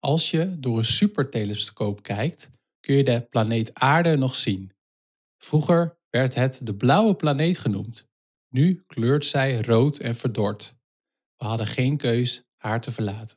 Als je door een supertelescoop kijkt, kun je de planeet Aarde nog zien. Vroeger werd het de blauwe planeet genoemd. Nu kleurt zij rood en verdord. We hadden geen keus haar te verlaten.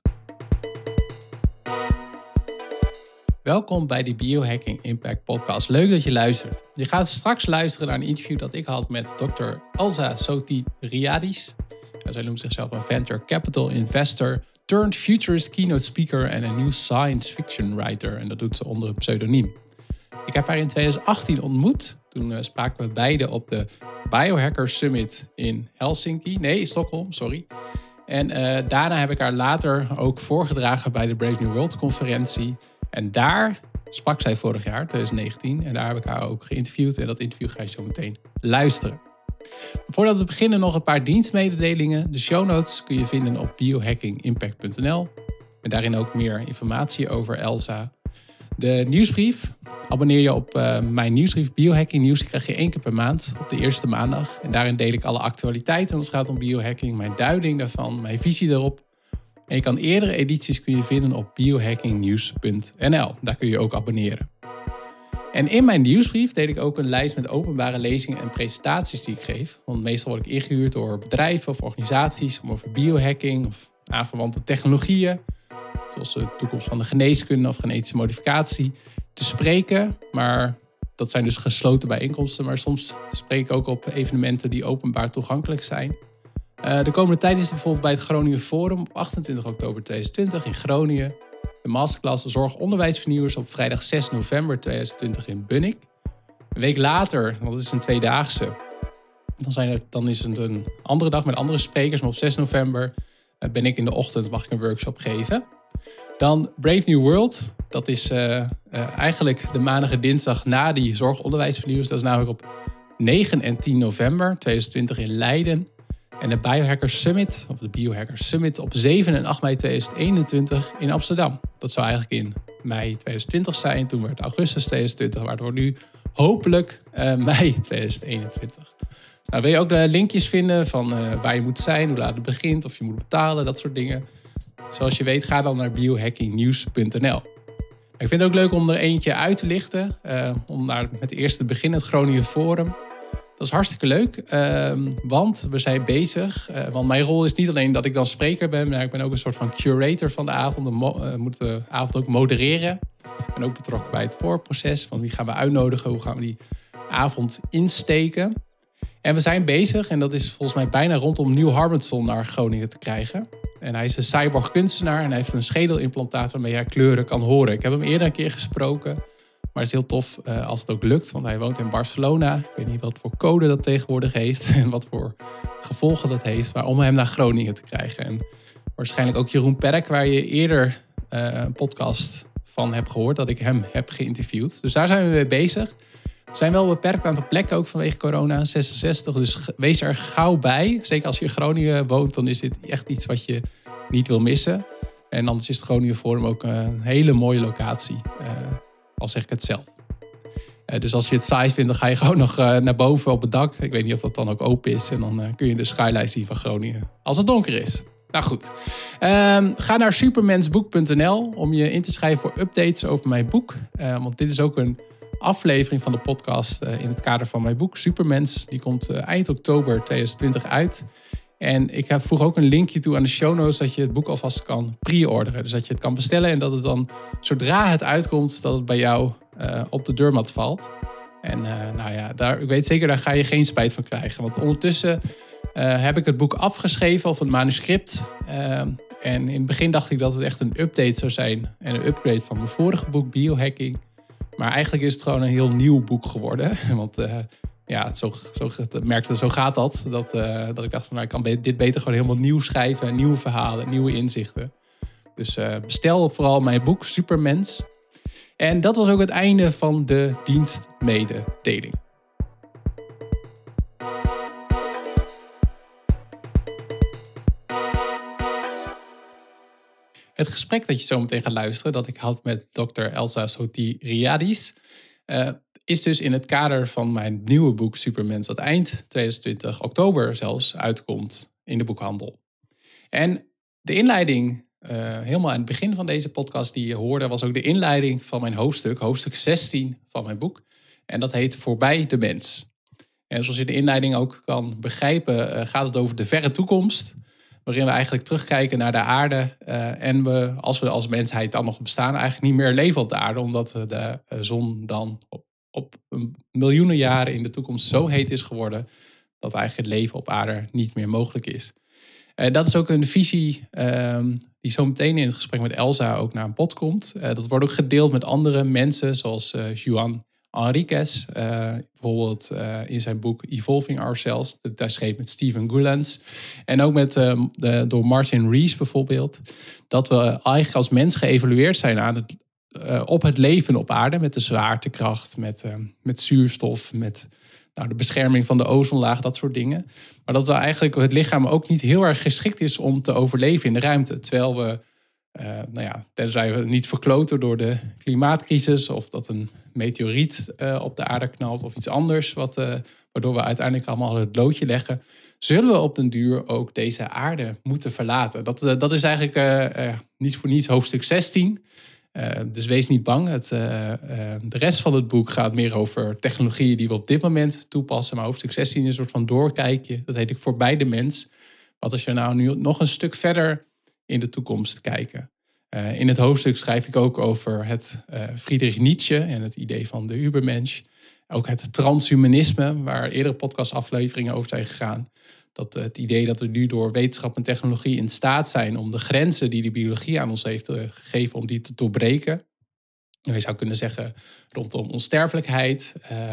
Welkom bij de Biohacking Impact Podcast. Leuk dat je luistert. Je gaat straks luisteren naar een interview dat ik had met Dr. Elsa Sotiryadis. Zij noemt zichzelf een venture capital investor, turned futurist keynote speaker en een new science fiction writer. En dat doet ze onder een pseudoniem. Ik heb haar in 2018 ontmoet. Toen spraken we beide op de Biohacker Summit in Stockholm. En daarna heb ik haar later ook voorgedragen bij de Brave New World conferentie. En daar sprak zij vorig jaar, 2019. En daar heb ik haar ook geïnterviewd. En dat interview ga je zo meteen luisteren. Voordat we beginnen nog een paar dienstmededelingen. De show notes kun je vinden op biohackingimpact.nl. En daarin ook meer informatie over Elsa. De nieuwsbrief. Abonneer je op mijn nieuwsbrief Biohacking Nieuws. Die krijg je 1 keer per maand op de eerste maandag. En daarin deel ik alle actualiteiten als het gaat om biohacking. Mijn duiding daarvan, mijn visie daarop. En je kan eerdere edities kun je vinden op biohackingnieuws.nl. Daar kun je ook abonneren. En in mijn nieuwsbrief deel ik ook een lijst met openbare lezingen en presentaties die ik geef. Want meestal word ik ingehuurd door bedrijven of organisaties om over biohacking of aanverwante technologieën, zoals de toekomst van de geneeskunde of genetische modificatie, te spreken. Maar dat zijn dus gesloten bijeenkomsten. Maar soms spreek ik ook op evenementen die openbaar toegankelijk zijn. De komende tijd is er bijvoorbeeld bij het Groningen Forum op 28 oktober 2020 in Groningen. De masterclass Zorg-onderwijsvernieuwers op vrijdag 6 november 2020 in Bunnik. Een week later, want het is een tweedaagse, dan is het een andere dag met andere sprekers. Maar op 6 november ben ik in de ochtend, mag ik een workshop geven. Dan Brave New World, dat is eigenlijk de maandag en dinsdag na die Zorg-onderwijsvernieuwers. Dat is namelijk op 9 en 10 november 2020 in Leiden. En de Biohacker Summit, of de Biohacker Summit op 7 en 8 mei 2021 in Amsterdam. Dat zou eigenlijk in mei 2020 zijn. Toen werd augustus 2020, waardoor nu hopelijk mei 2021. Nou, wil je ook de linkjes vinden van waar je moet zijn, hoe laat het begint, of je moet betalen, dat soort dingen. Zoals je weet, ga dan naar biohackingnieuws.nl. Ik vind het ook leuk om er eentje uit te lichten. Om met eerst te beginnen, het Groningen Forum. Dat is hartstikke leuk, want we zijn bezig. Want mijn rol is niet alleen dat ik dan spreker ben, maar ik ben ook een soort van curator van de avond. Moet de avond ook modereren. Ik ben ook betrokken bij het voorproces. Van wie gaan we uitnodigen, hoe gaan we die avond insteken. En we zijn bezig, en dat is volgens mij bijna rondom Nieuw Harbenson naar Groningen te krijgen. En hij is een cyborg kunstenaar en hij heeft een schedelimplantaat waarmee hij kleuren kan horen. Ik heb hem eerder een keer gesproken. Maar het is heel tof als het ook lukt, want hij woont in Barcelona. Ik weet niet wat voor code dat tegenwoordig heeft en wat voor gevolgen dat heeft. Maar om hem naar Groningen te krijgen. En waarschijnlijk ook Jeroen Perk, waar je eerder een podcast van hebt gehoord, dat ik hem heb geïnterviewd. Dus daar zijn we mee bezig. We zijn wel beperkt aan aantal plekken, ook vanwege corona, 66. Dus wees er gauw bij. Zeker als je in Groningen woont, dan is dit echt iets wat je niet wil missen. En anders is het Groningen Forum ook een hele mooie locatie. Al zeg ik het zelf. Dus als je het saai vindt, dan ga je gewoon nog naar boven op het dak. Ik weet niet of dat dan ook open is. En dan kun je de skyline zien van Groningen. Als het donker is. Nou goed. Ga naar supermensboek.nl om je in te schrijven voor updates over mijn boek. Want dit is ook een aflevering van de podcast in het kader van mijn boek Supermens. Die komt eind oktober 2020 uit. En ik voeg ook een linkje toe aan de show notes dat je het boek alvast kan pre-orderen. Dus dat je het kan bestellen en dat het dan, zodra het uitkomt, dat het bij jou op de deurmat valt. En ik weet zeker, daar ga je geen spijt van krijgen. Want ondertussen heb ik het boek afgeschreven of een manuscript. En in het begin dacht ik dat het echt een update zou zijn. En een upgrade van mijn vorige boek, Biohacking. Maar eigenlijk is het gewoon een heel nieuw boek geworden. Want zo gaat dat. Dat ik dacht van, ik kan dit beter gewoon helemaal nieuw schrijven. Nieuwe verhalen, nieuwe inzichten. Dus bestel vooral mijn boek Supermens. En dat was ook het einde van de dienstmededeling. Het gesprek dat je zo meteen gaat luisteren, dat ik had met Dr. Elsa Sotiryadis, is dus in het kader van mijn nieuwe boek Supermens, dat eind 2020, oktober zelfs, uitkomt in de boekhandel. En de inleiding helemaal aan het begin van deze podcast die je hoorde, was ook de inleiding van mijn hoofdstuk 16 van mijn boek. En dat heet Voorbij de mens. En zoals je de inleiding ook kan begrijpen, gaat het over de verre toekomst. Waarin we eigenlijk terugkijken naar de aarde. En we, als we als mensheid dan nog bestaan, eigenlijk niet meer leven op de aarde. Omdat de zon dan op miljoenen jaren in de toekomst zo heet is geworden dat eigenlijk het leven op aarde niet meer mogelijk is. Dat is ook een visie die zo meteen in het gesprek met Elsa ook naar een bod komt. Dat wordt ook gedeeld met andere mensen zoals Juan Enriquez. Bijvoorbeeld in zijn boek Evolving Ourselves. Dat hij schreef met Steven Gullens. En ook met, door Martin Rees bijvoorbeeld. Dat we eigenlijk als mens geëvalueerd zijn op het leven op aarde. Met de zwaartekracht, met zuurstof, met de bescherming van de ozonlaag, dat soort dingen. Maar dat eigenlijk het lichaam ook niet heel erg geschikt is om te overleven in de ruimte. Terwijl we, tenzij we niet verkloten door de klimaatcrisis of dat een meteoriet op de aarde knalt of iets anders, waardoor we uiteindelijk allemaal het loodje leggen, zullen we op den duur ook deze aarde moeten verlaten. Dat is eigenlijk niet voor niets hoofdstuk 16. Dus wees niet bang. De rest van het boek gaat meer over technologieën die we op dit moment toepassen. Maar hoofdstuk 16 is een soort van doorkijkje. Dat heet ik Voorbij de mens. Want als je nou nu nog een stuk verder in de toekomst kijken. In het hoofdstuk schrijf ik ook over het Friedrich Nietzsche en het idee van de Übermensch. Ook het transhumanisme, waar eerdere podcastafleveringen over zijn gegaan. Dat het idee dat we nu door wetenschap en technologie in staat zijn om de grenzen die de biologie aan ons heeft gegeven, om die te doorbreken. Je zou kunnen zeggen rondom onsterfelijkheid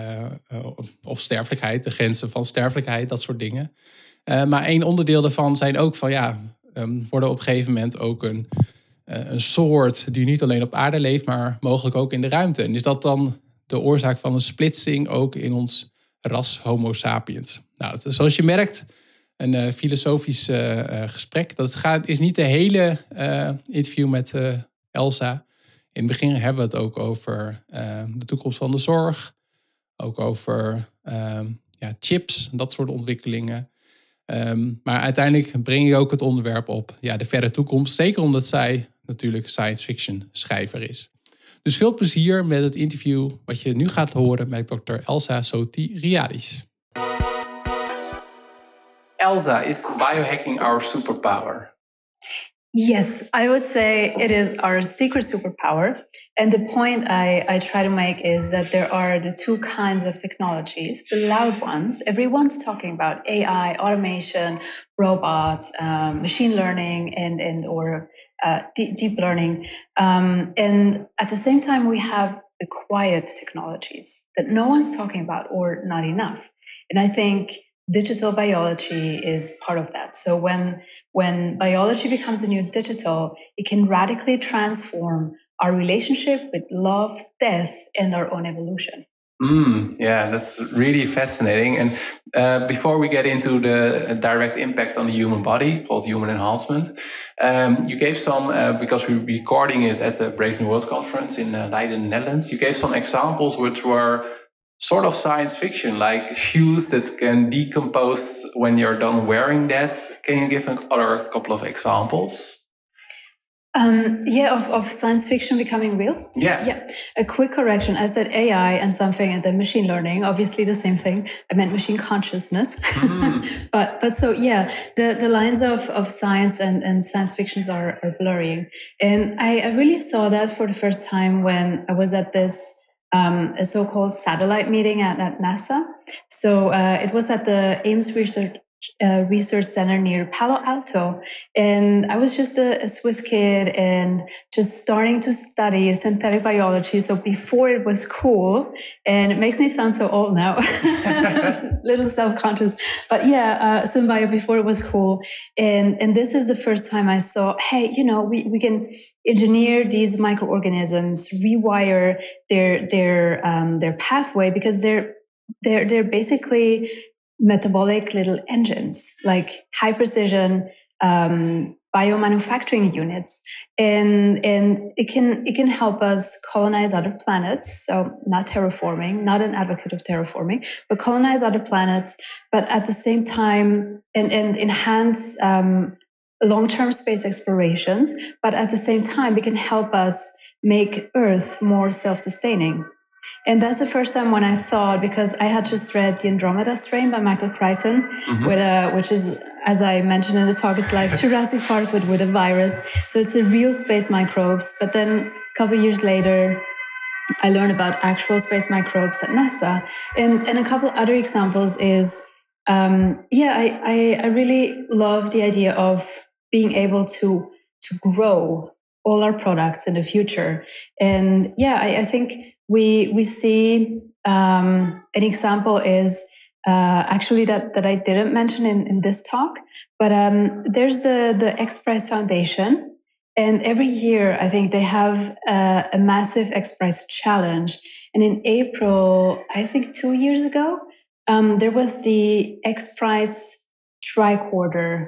of sterfelijkheid, de grenzen van sterfelijkheid, dat soort dingen. Maar één onderdeel daarvan zijn ook van worden op een gegeven moment ook een soort die niet alleen op aarde leeft, maar mogelijk ook in de ruimte. En is dat dan de oorzaak van een splitsing ook in ons ras Homo sapiens? Nou, zoals je merkt, een filosofisch gesprek. Dat is niet de hele interview met Elsa. In het begin hebben we het ook over de toekomst van de zorg. Ook over chips, dat soort ontwikkelingen. Maar uiteindelijk breng je ook het onderwerp op de verre toekomst. Zeker omdat zij natuurlijk science fiction schrijver is. Dus veel plezier met het interview wat je nu gaat horen met Dr. Elsa Sotiryadis. Elsa, is biohacking our superpower? Yes, I would say it is our secret superpower. And the point I try to make is that there are the two kinds of technologies. The loud ones, everyone's talking about AI, automation, robots, machine learning, or deep learning. And at the same time, we have the quiet technologies that no one's talking about or not enough. And I think digital biology is part of that. So when biology becomes a new digital, it can radically transform our relationship with love, death, and our own evolution. Yeah, that's really fascinating. And before we get into the direct impact on the human body, called human enhancement, you gave some, because we're recording it at the Brave New World Conference in Leiden, Netherlands, you gave some examples which were sort of science fiction, like shoes that can decompose when you're done wearing that. Can you give another couple of examples? Of science fiction becoming real? Yeah. A quick correction. I said AI and something and then machine learning, obviously the same thing. I meant machine consciousness. The lines of science and science fictions are blurring. And I really saw that for the first time when I was at this a so-called satellite meeting at NASA. So it was at the Ames Research Center near Palo Alto. And I was just a Swiss kid and just starting to study synthetic biology. So before it was cool, and it makes me sound so old now, little self-conscious. But SynBio before it was cool. And this is the first time I saw, hey, we can engineer these microorganisms, rewire their pathway, because they're basically metabolic little engines, like high precision biomanufacturing units, and it can help us colonize other planets. So not terraforming, not an advocate of terraforming, but colonize other planets, but at the same time and enhance long-term space explorations, but at the same time, it can help us make Earth more self-sustaining. And that's the first time when I thought, because I had just read The Andromeda Strain by Michael Crichton, which is, as I mentioned in the talk, it's like Jurassic Park with a virus. So it's a real space microbes. But then a couple of years later, I learned about actual space microbes at NASA. And a couple other examples is, I really love the idea of being able to grow all our products in the future. And I think we see an example is actually that I didn't mention in this talk, but there's the X Prize Foundation. And every year, I think they have a massive X Prize challenge. And in April, I think 2 years ago, there was the X Prize tricorder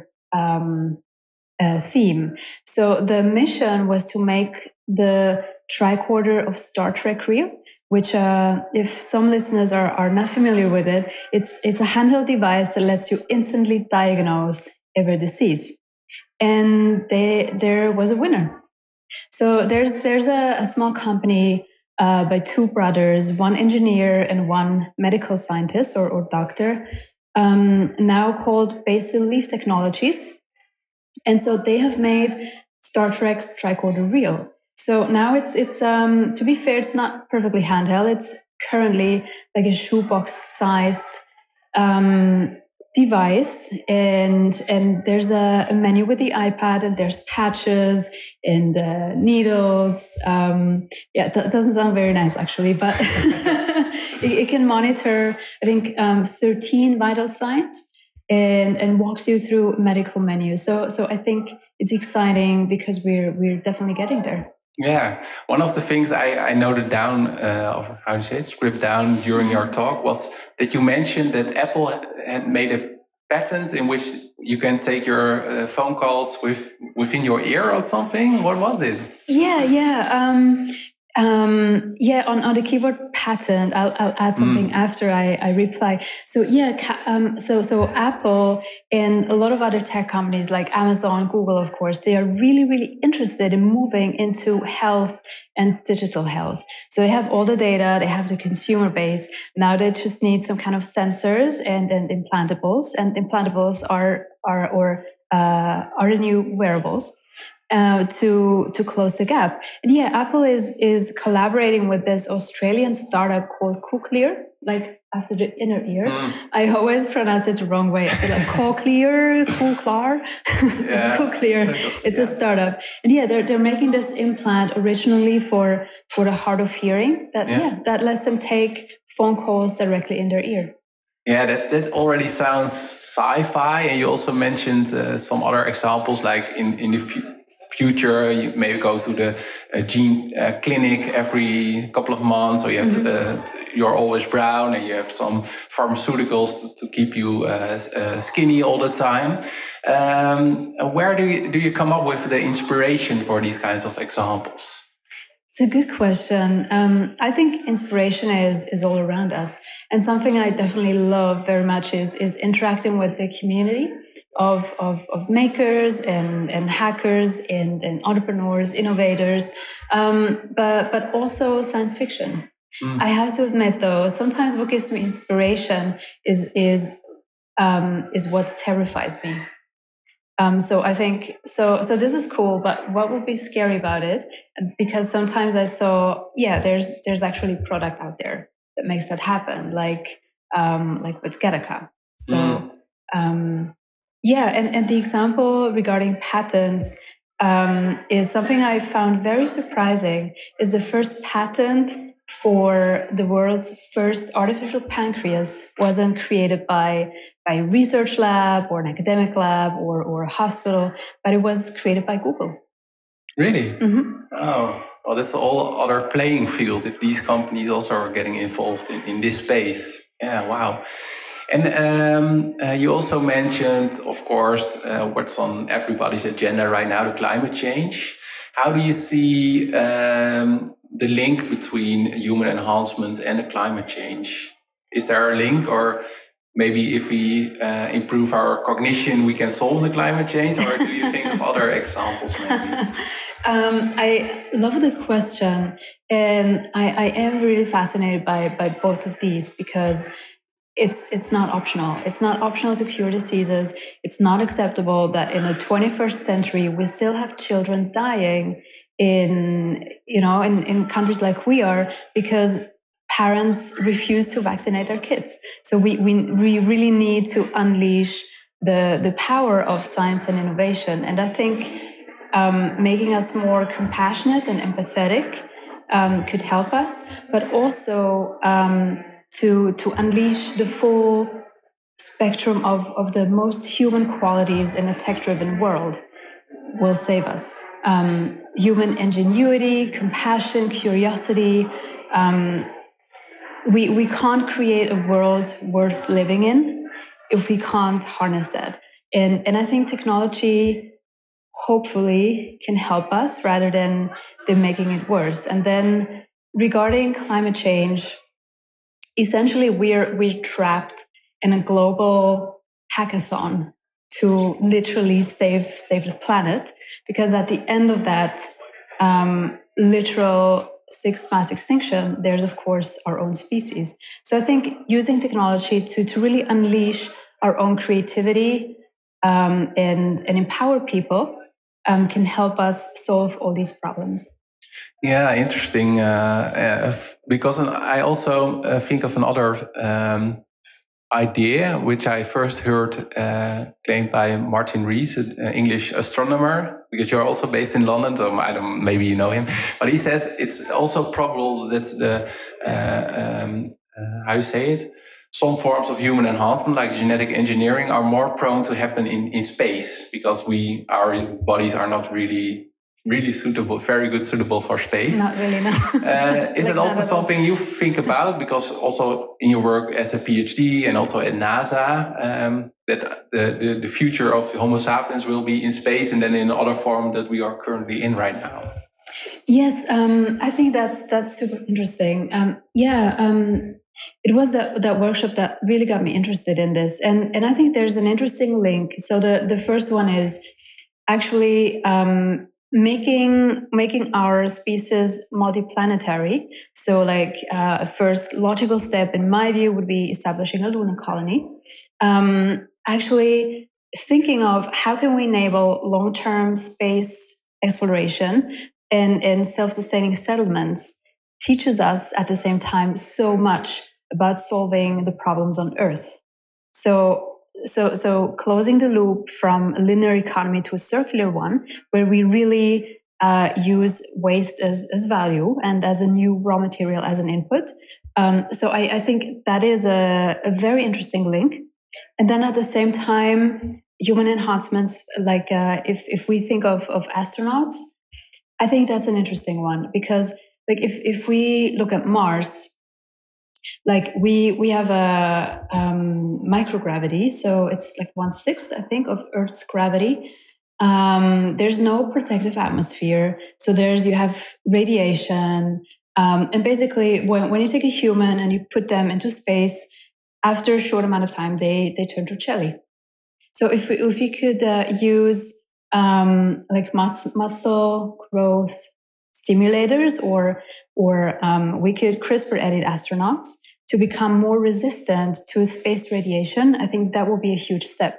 theme. So the mission was to make the tricorder of Star Trek real, which if some listeners are not familiar with it, it's a handheld device that lets you instantly diagnose every disease. And there was a winner. So there's a small company by two brothers, one engineer and one medical scientist or doctor, now called Basil Leaf Technologies. And so they have made Star Trek's tricorder real. So now it's to be fair, it's not perfectly handheld. It's currently like a shoebox-sized device, and there's a menu with the iPad, and there's patches and needles. That doesn't sound very nice actually, but it can monitor, I think, 13 vital signs and walks you through medical menus. So I think it's exciting because we're definitely getting there. Yeah, one of the things I noted down, or how do you say it, script down during your talk, was that you mentioned that Apple had made a patent in which you can take your phone calls within your ear or something. What was it? On the keyword patent, I'll add something after I reply. So so Apple and a lot of other tech companies like Amazon, Google, of course, they are really, really interested in moving into health and digital health. So they have all the data, they have the consumer base. Now they just need some kind of sensors and implantables, and implantables are the new wearables. To close the gap. And Apple is collaborating with this Australian startup called Cochlear, like after the inner ear. I always pronounce it the wrong way. I say like Cochlear. Cochlear. It's a startup. And they're making this implant originally for the hard of hearing that lets them take phone calls directly in their ear. Yeah, that already sounds sci-fi. And you also mentioned some other examples, like in the future, you maybe go to the gene clinic every couple of months, or you have you're always brown, and you have some pharmaceuticals to keep you skinny all the time. Where do you come up with the inspiration for these kinds of examples? It's a good question. I think inspiration is all around us. And something I definitely love very much is interacting with the community of makers and hackers and entrepreneurs, innovators, but also science fiction. I have to admit, though, sometimes what gives me inspiration is what terrifies me. So I think so this is cool, but what would be scary about it? Because sometimes I saw, there's actually a product out there that makes that happen, like with Gattaca. So and the example regarding patents is something I found very surprising. Is the first patent for the world's first artificial pancreas wasn't created by a research lab or an academic lab or a hospital, but it was created by Google. Really? Mm-hmm. Oh, well, that's a whole other playing field if these companies also are getting involved in this space. Yeah, wow. And you also mentioned, of course, what's on everybody's agenda right now, the climate change. How do you see the link between human enhancement and the climate change? Is there a link, or maybe if we improve our cognition, we can solve the climate change? Or do you think of other examples maybe? I love the question. And I am really fascinated by both of these because it's not optional. It's not optional to cure diseases. It's not acceptable that in the 21st century we still have children dying in countries like we are because parents refuse to vaccinate their kids. So we really need to unleash the power of science and innovation. And I think making us more compassionate and empathetic could help us, but also to unleash the full spectrum of the most human qualities in a tech-driven world will save us. Human ingenuity, compassion, curiosity. We can't create a world worth living in if we can't harness that. And I think technology hopefully can help us rather than making it worse. And then regarding climate change, essentially we're trapped in a global hackathon to literally save the planet, because at the end of that literal sixth mass extinction, there's of course our own species. So I think using technology to really unleash our own creativity and empower people can help us solve all these problems. Yeah, interesting. Because I also think of another idea, which I first heard claimed by Martin Rees, an English astronomer, because you're also based in London, so maybe you know him. But he says it's also probable that how you say it? Some forms of human enhancement, like genetic engineering, are more prone to happen in space because our bodies are not really suitable for space. Not really, no. Is it also something you think about? Because also in your work as a PhD and also at NASA, that the future of Homo sapiens will be in space and then in other form that we are currently in right now. Yes, I think that's super interesting. It was that workshop that really got me interested in this. And I think there's an interesting link. So the first one is actually making our species multiplanetary. So like a first logical step in my view would be establishing a lunar colony. Actually thinking of how can we enable long-term space exploration and self-sustaining settlements teaches us at the same time so much about solving the problems on Earth. So closing the loop from a linear economy to a circular one, where we really use waste as value and as a new raw material as an input. So I think that is a very interesting link. And then at the same time, human enhancements, like if we think of astronauts, I think that's an interesting one, because like if we look at Mars, like we have a microgravity, so it's like 1/6, I think, of Earth's gravity. There's no protective atmosphere, so you have radiation, and basically when you take a human and you put them into space, after a short amount of time they turn to jelly. So if we could use like muscle growth stimulators, or we could CRISPR edit astronauts to become more resistant to space radiation, I think that will be a huge step.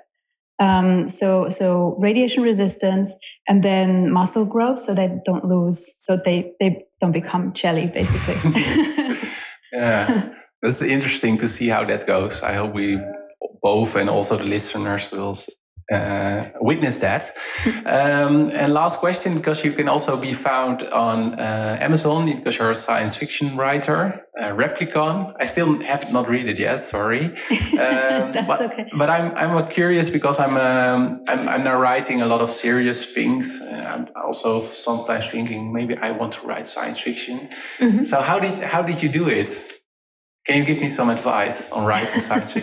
So radiation resistance and then muscle growth, so they don't lose, so they don't become jelly, basically. Yeah, that's interesting to see how that goes. I hope we both and also the listeners will witness that. And last question, because you can also be found on Amazon, because you're a science fiction writer, Replicon. I still have not read it yet, sorry. That's okay. But I'm curious because I'm now writing a lot of serious things. I'm also sometimes thinking maybe I want to write science fiction. Mm-hmm. So how did you do it? Can you give me some advice on writing science fiction?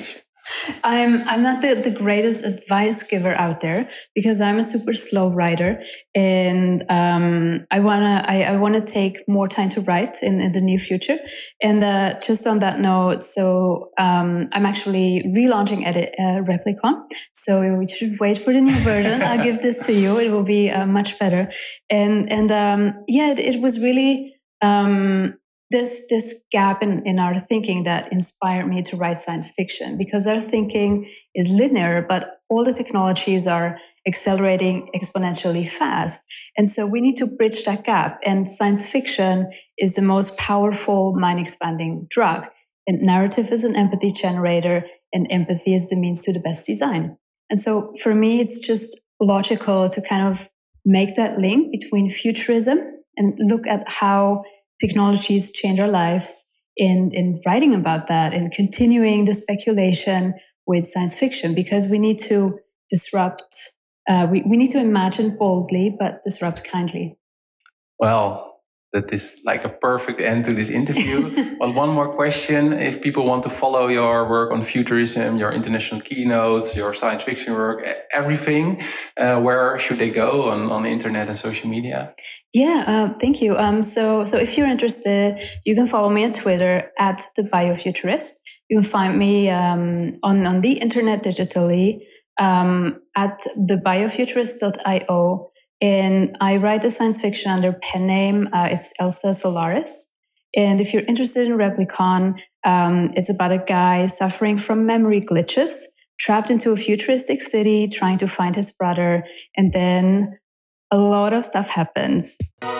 I'm not the greatest advice giver out there because I'm a super slow writer, and I wanna take more time to write in the near future. And just on that note, so I'm actually relaunching Replicon, so we should wait for the new version. I'll give this to you; it will be much better. And it was really. This gap in our thinking that inspired me to write science fiction, because our thinking is linear, but all the technologies are accelerating exponentially fast. And so we need to bridge that gap. And science fiction is the most powerful mind-expanding drug. And narrative is an empathy generator, and empathy is the means to the best design. And so for me, it's just logical to kind of make that link between futurism and look at how technologies change our lives in writing about that and continuing the speculation with science fiction, because we need to disrupt. We need to imagine boldly, but disrupt kindly. Well, that is like a perfect end to this interview. Well, one more question. If people want to follow your work on futurism, your international keynotes, your science fiction work, everything, where should they go on the internet and social media? Yeah, thank you. So if you're interested, you can follow me on Twitter at The Biofuturist. You can find me on the internet digitally at thebiofuturist.io. And I write the science fiction under pen name. It's Elsa Solaris. And if you're interested in Replicon, it's about a guy suffering from memory glitches, trapped into a futuristic city, trying to find his brother. And then a lot of stuff happens.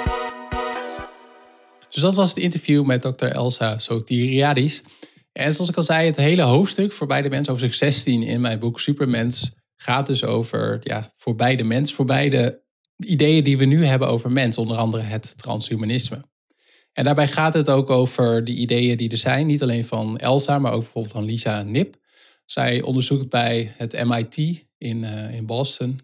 Dus dat was het interview met Dr. Elsa Sotiriadis. En zoals ik al zei, het hele hoofdstuk Voorbij de Mens, hoofdstuk 16 in mijn boek Supermens, gaat dus over voorbij de mens, voorbij de ideeën die we nu hebben over mens, onder andere het transhumanisme. En daarbij gaat het ook over de ideeën die er zijn, niet alleen van Elsa, maar ook bijvoorbeeld van Lisa Nip. Zij onderzoekt bij het MIT in Boston.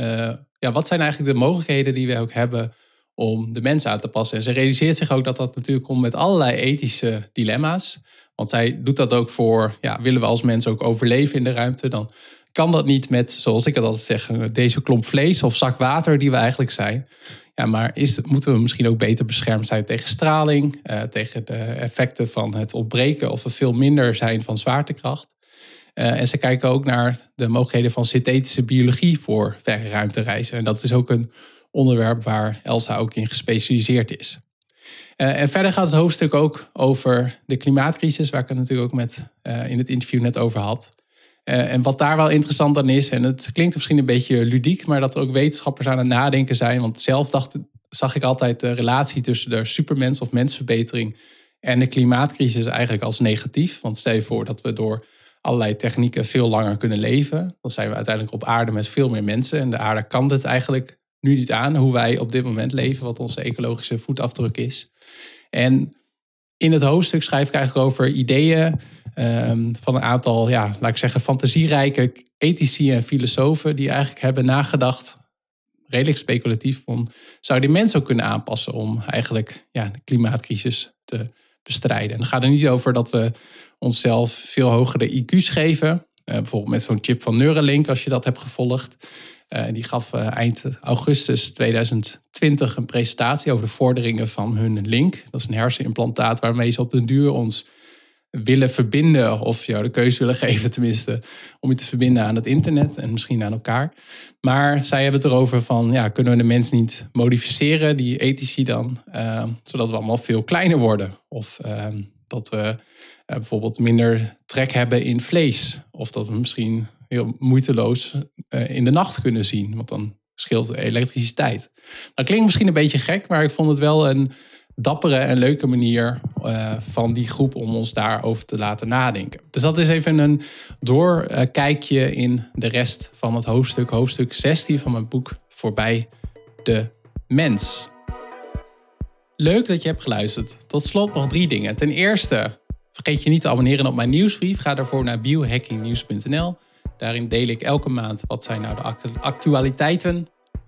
Wat zijn eigenlijk de mogelijkheden die we ook hebben om de mens aan te passen? En ze realiseert zich ook dat dat natuurlijk komt met allerlei ethische dilemma's. Want zij doet dat ook voor, willen we als mens ook overleven in de ruimte, dan kan dat niet met, zoals ik het altijd zeg, deze klomp vlees of zak water die we eigenlijk zijn. Ja, maar moeten we misschien ook beter beschermd zijn tegen straling, tegen de effecten van het ontbreken of het veel minder zijn van zwaartekracht. En ze kijken ook naar de mogelijkheden van synthetische biologie voor verre ruimtereizen. En dat is ook een onderwerp waar Elsa ook in gespecialiseerd is. En verder gaat het hoofdstuk ook over de klimaatcrisis, waar ik het natuurlijk ook in het interview net over had. En wat daar wel interessant aan is, en het klinkt misschien een beetje ludiek, maar dat er ook wetenschappers aan het nadenken zijn. Want zelf zag ik altijd de relatie tussen de supermens of mensverbetering en de klimaatcrisis eigenlijk als negatief. Want stel je voor dat we door allerlei technieken veel langer kunnen leven. Dan zijn we uiteindelijk op aarde met veel meer mensen. En de aarde kan dit eigenlijk nu niet aan, hoe wij op dit moment leven, wat onze ecologische voetafdruk is. En in het hoofdstuk schrijf ik eigenlijk over ideeën van een aantal, laat ik zeggen, fantasierijke ethici en filosofen die eigenlijk hebben nagedacht, redelijk speculatief, van zou die mens ook kunnen aanpassen om eigenlijk de klimaatcrisis te bestrijden. En dan gaat het niet over dat we onszelf veel hogere IQ's geven. Bijvoorbeeld met zo'n chip van Neuralink, als je dat hebt gevolgd. Die gaf eind augustus 2020 een presentatie over de vorderingen van hun Link. Dat is een hersenimplantaat waarmee ze op den duur ons willen verbinden, of jou de keuze willen geven tenminste, om je te verbinden aan het internet en misschien aan elkaar. Maar zij hebben het erover van, kunnen we de mens niet modificeren, die ethici dan, zodat we allemaal veel kleiner worden. Of dat we bijvoorbeeld minder trek hebben in vlees. Of dat we misschien heel moeiteloos in de nacht kunnen zien, want dan scheelt de elektriciteit. Dat klinkt misschien een beetje gek, maar ik vond het wel een dappere en leuke manier van die groep om ons daarover te laten nadenken. Dus dat is even een doorkijkje in de rest van het hoofdstuk 16 van mijn boek Voorbij de Mens. Leuk dat je hebt geluisterd. Tot slot nog 3 dingen. Ten eerste, vergeet je niet te abonneren op mijn nieuwsbrief. Ga daarvoor naar biohackingnieuws.nl. Daarin deel ik elke maand wat zijn nou de actualiteiten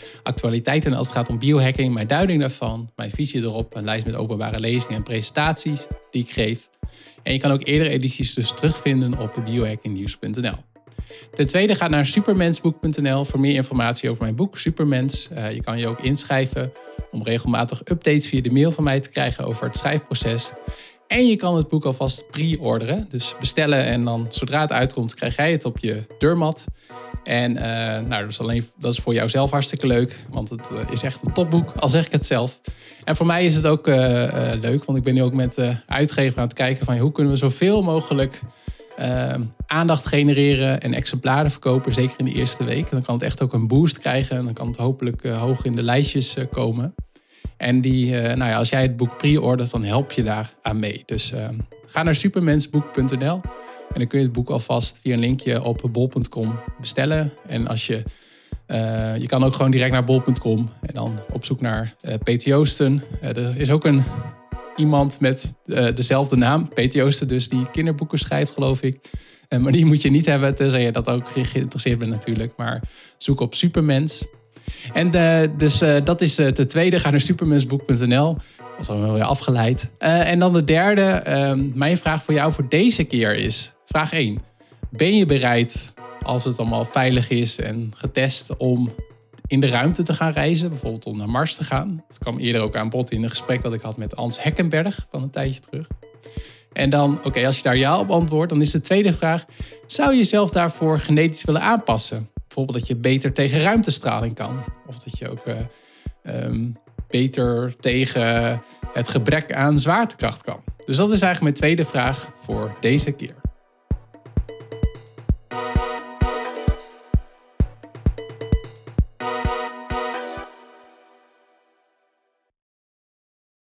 actualiteiten als het gaat om biohacking, mijn duiding daarvan, mijn visie erop, een lijst met openbare lezingen en presentaties die ik geef. En je kan ook eerdere edities dus terugvinden op biohackingnieuws.nl. Ten tweede, ga naar supermensboek.nl voor meer informatie over mijn boek Supermens. Je kan je ook inschrijven om regelmatig updates via de mail van mij te krijgen over het schrijfproces. En je kan het boek alvast pre-orderen, dus bestellen en dan zodra het uitkomt krijg jij het op je deurmat. En dat is voor jou zelf hartstikke leuk, want het is echt een topboek, al zeg ik het zelf. En voor mij is het ook leuk, want ik ben nu ook met de uitgever aan het kijken van hoe kunnen we zoveel mogelijk aandacht genereren en exemplaren verkopen, zeker in de eerste week. En dan kan het echt ook een boost krijgen en dan kan het hopelijk hoog in de lijstjes komen. En als jij het boek pre-ordert, dan help je daar aan mee. Dus ga naar supermensboek.nl en dan kun je het boek alvast via een linkje op bol.com bestellen. En als je kan ook gewoon direct naar bol.com en dan op zoek naar Peter Joosten. Er is ook iemand met dezelfde naam, Peter Joosten, dus die kinderboeken schrijft, geloof ik. Maar die moet je niet hebben, tenzij je dat ook geïnteresseerd bent natuurlijk. Maar zoek op Supermens. En dat is de tweede. Ga naar supermensboek.nl. Dat is al wel weer afgeleid. En dan de derde. Mijn vraag voor jou voor deze keer is... Vraag 1. Ben je bereid, als het allemaal veilig is en getest, om in de ruimte te gaan reizen? Bijvoorbeeld om naar Mars te gaan. Dat kwam eerder ook aan bod in een gesprek dat ik had met Ans Hekkenberg van een tijdje terug. En dan, als je daar ja op antwoordt, dan is de tweede vraag... Zou je jezelf daarvoor genetisch willen aanpassen? Bijvoorbeeld dat je beter tegen ruimtestraling kan. Of dat je ook beter tegen het gebrek aan zwaartekracht kan. Dus dat is eigenlijk mijn tweede vraag voor deze keer.